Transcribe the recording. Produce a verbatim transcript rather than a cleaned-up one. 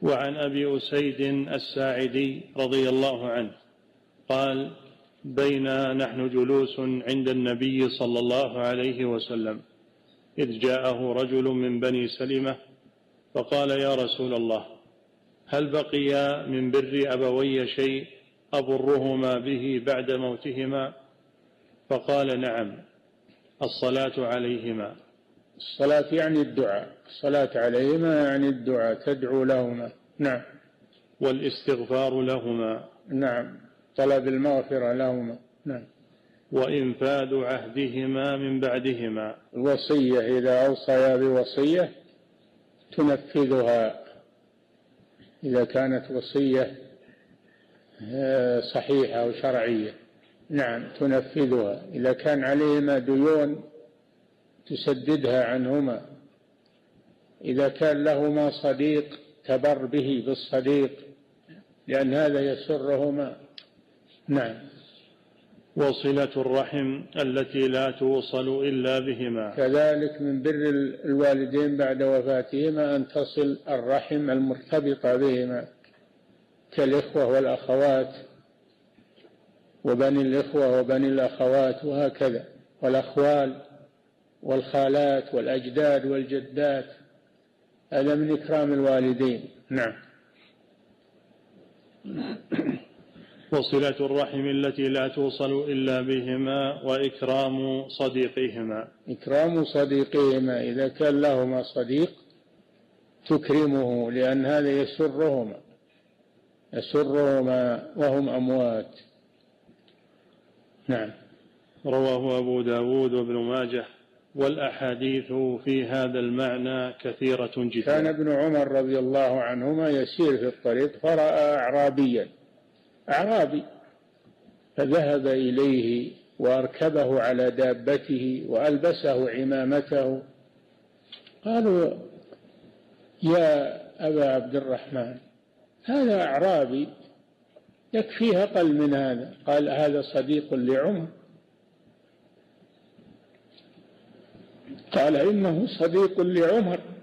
وعن أبي أسيد الساعدي رضي الله عنه قال: بينا نحن جلوس عند النبي صلى الله عليه وسلم إذ جاءه رجل من بني سلمة فقال: يا رسول الله، هل بقي من بر أبوي شيء أبرهما به بعد موتهما؟ فقال: نعم، الصلاة عليهما. الصلاة يعني الدعاء، الصلاة عليهما يعني الدعاء، تدعو لهما. نعم. والاستغفار لهما. نعم، طلب المغفرة لهما. نعم. وإنفاذ عهدهما من بعدهما. الوصية، إذا أوصيا بوصية تنفذها، إذا كانت وصية صحيحة وشرعية. نعم، تنفذها. إذا كان عليهما ديون تسددها عنهما. إذا كان لهما صديق تبر به بالصديق، لأن هذا يسرهما. نعم. وصلة الرحم التي لا توصل إلا بهما. كذلك من بر الوالدين بعد وفاتهما أن تصل الرحم المرتبطة بهما، كالإخوة والأخوات وبني الإخوة وبني الأخوات وهكذا، والأخوال والخالات والأجداد والجدات، هذا من إكرام الوالدين. نعم. وصلة الرحم التي لا توصل إلا بهما، وإكرام صديقهما. إكرام صديقهما، إذا كان لهما صديق تكرمه، لأن هذا يسرهما يسرهما وهم أموات. نعم. رواه أبو داود وابن ماجه، والأحاديث في هذا المعنى كثيرة جدا. كان ابن عمر رضي الله عنهما يسير في الطريق فرأى أعرابيا أعرابي فذهب إليه وأركبه على دابته وألبسه عمامته. قالوا: يا أبا عبد الرحمن، هذا أعرابي يكفيه أقل من هذا. قال: هذا صديق لعمر. قال: إنه صديق لعمر.